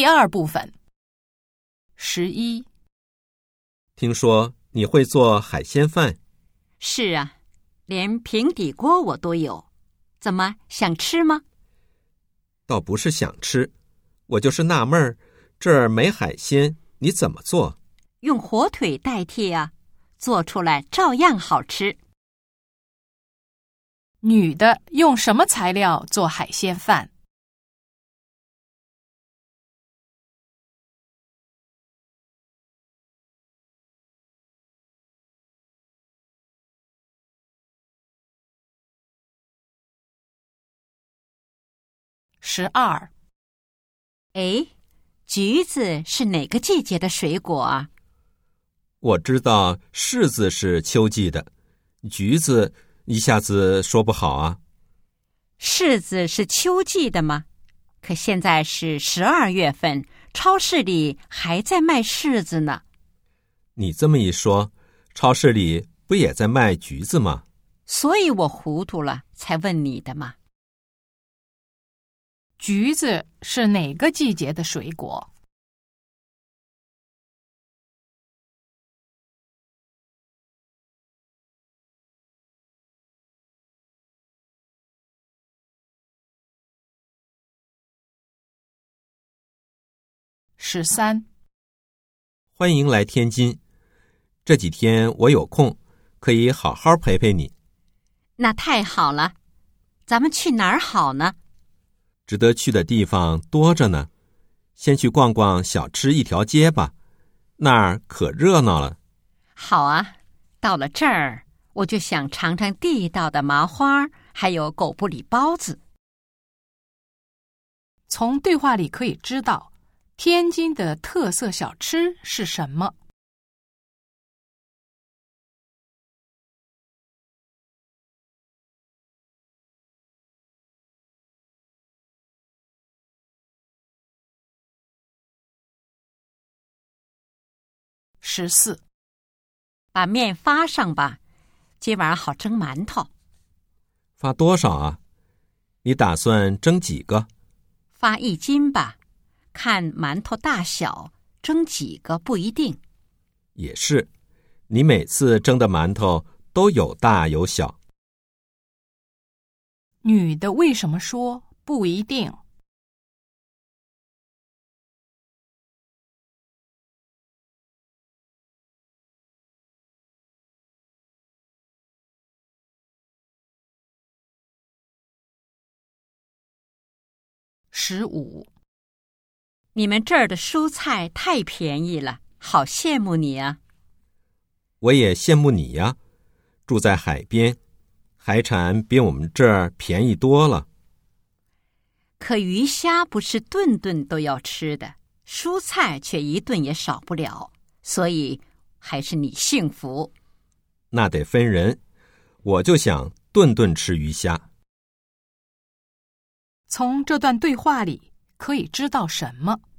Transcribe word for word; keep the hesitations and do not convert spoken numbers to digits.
第二部分。十一， 听说你会做海鲜饭？ 是啊，连平底锅我都有。怎么，想吃吗？ 倒不是想吃，我就是纳闷儿，这儿没海鲜，你怎么做？ 用火腿代替啊，做出来照样好吃。 女的用什么材料做海鲜饭？十二， 哎，橘子是哪个季节的水果啊？ 我知道柿子是秋季的，橘子一下子说不好啊。 柿子是秋季的吗？可现在是十二月份，超市里还在卖柿子呢。 你这么一说，超市里不也在卖橘子吗？ 所以我糊涂了，才问你的嘛。 橘子是哪个季节的水果？十三， 欢迎来天津，这几天我有空，可以好好陪陪你。 那太好了，咱们去哪儿好呢？ 值得去的地方多着呢，先去逛逛小吃一条街吧，那儿可热闹了。 好啊，到了这儿，我就想尝尝地道的麻花，还有狗不理包子。 从对话里可以知道，天津的特色小吃是什么？十四， 把面发上吧，今晚好蒸馒头。 发多少啊？你打算蒸几个？ 发一斤吧，看馒头大小，蒸几个不一定。 也是，你每次蒸的馒头都有大有小。 女的为什么说不一定？十五， 你们这儿的蔬菜太便宜了，好羡慕你啊！ 我也羡慕你呀，住在海边，海产比我们这儿便宜多了。 可鱼虾不是顿顿都要吃的，蔬菜却一顿也少不了，所以还是你幸福。 那得分人，我就想顿顿吃鱼虾。 从这段对话里可以知道什么？